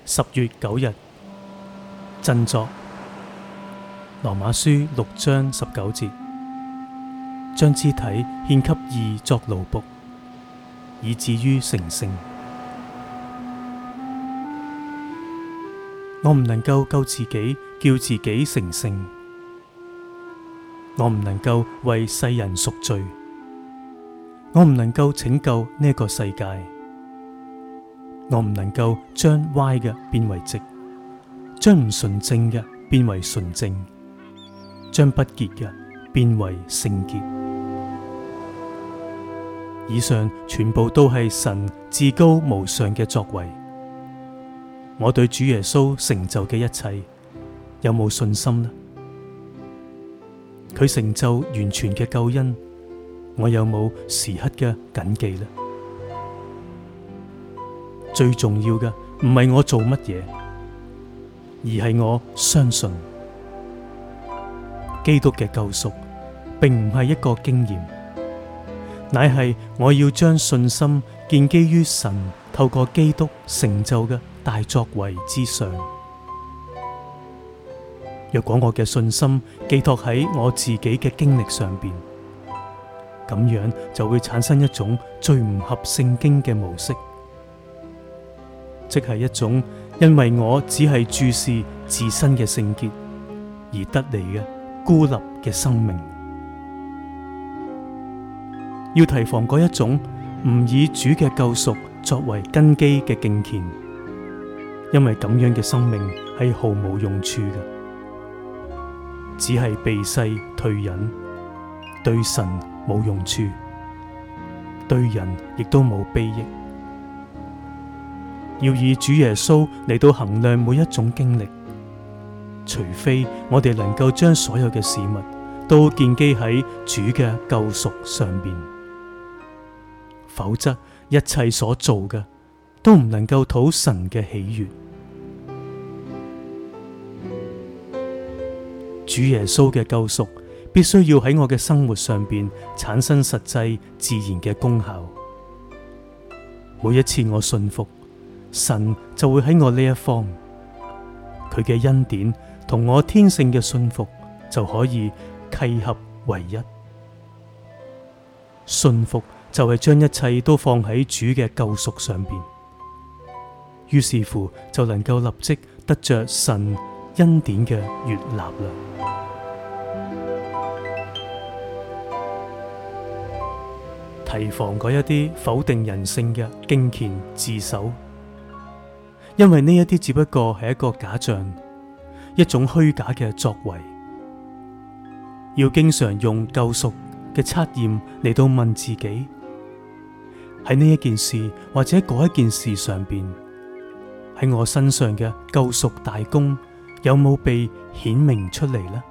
10月9日，振作。羅馬書6章19節，將肢體獻給義作奴僕，以至於成聖。我唔能夠救自己，叫自己成聖。我唔能夠為世人贖罪。我唔能夠拯救呢個世界。我唔能夠將歪嘅變為直，將唔純正嘅變為純正，將不潔嘅變為聖潔。以上全部都係神至高無上嘅作為。我對主耶穌成就嘅一切有冇信心呢？佢成就完全嘅救恩，我有冇時刻嘅謹記呢？最重要嘅唔係我做乜嘢，而係我相信基督嘅救贖，並唔係一個經驗，乃係我要將信心建基於神透過基督成就嘅大作為之上。若果我嘅信心寄託喺我自己嘅經歷上邊，咁樣就會產生一種最唔合聖經嘅模式，即係一種因為我只係注視自身嘅聖潔而得嚟嘅孤立嘅生命。要提防嗰一種唔以主嘅救贖作為根基嘅敬虔，因為咁樣嘅生命係毫無用處嘅，只係避世退隱，對神冇用處，對人亦都冇裨益。要以主耶穌嚟到衡量每一種經歷，除非我哋能夠將所有嘅事物都建基喺主嘅救贖上邊，否則一切所做嘅都唔能夠討神嘅喜悅。主耶穌嘅救贖必須要喺我嘅生活上邊產生實際自然嘅功效。每一次我信服，神就會喺我呢一方，佢嘅恩典同我天性嘅信服就可以契合為一。信服就係將一切都放喺主嘅救贖上邊，於是乎就能夠立即得着神恩典嘅悅納啦。提防嗰一啲否定人性嘅敬虔自守，因為呢一啲只不過係一個假象，一種虛假嘅作為。要經常用救贖嘅測驗嚟到問自己，喺呢一件事或者嗰一件事上邊，喺我身上嘅救贖大功有冇被顯明出嚟呢？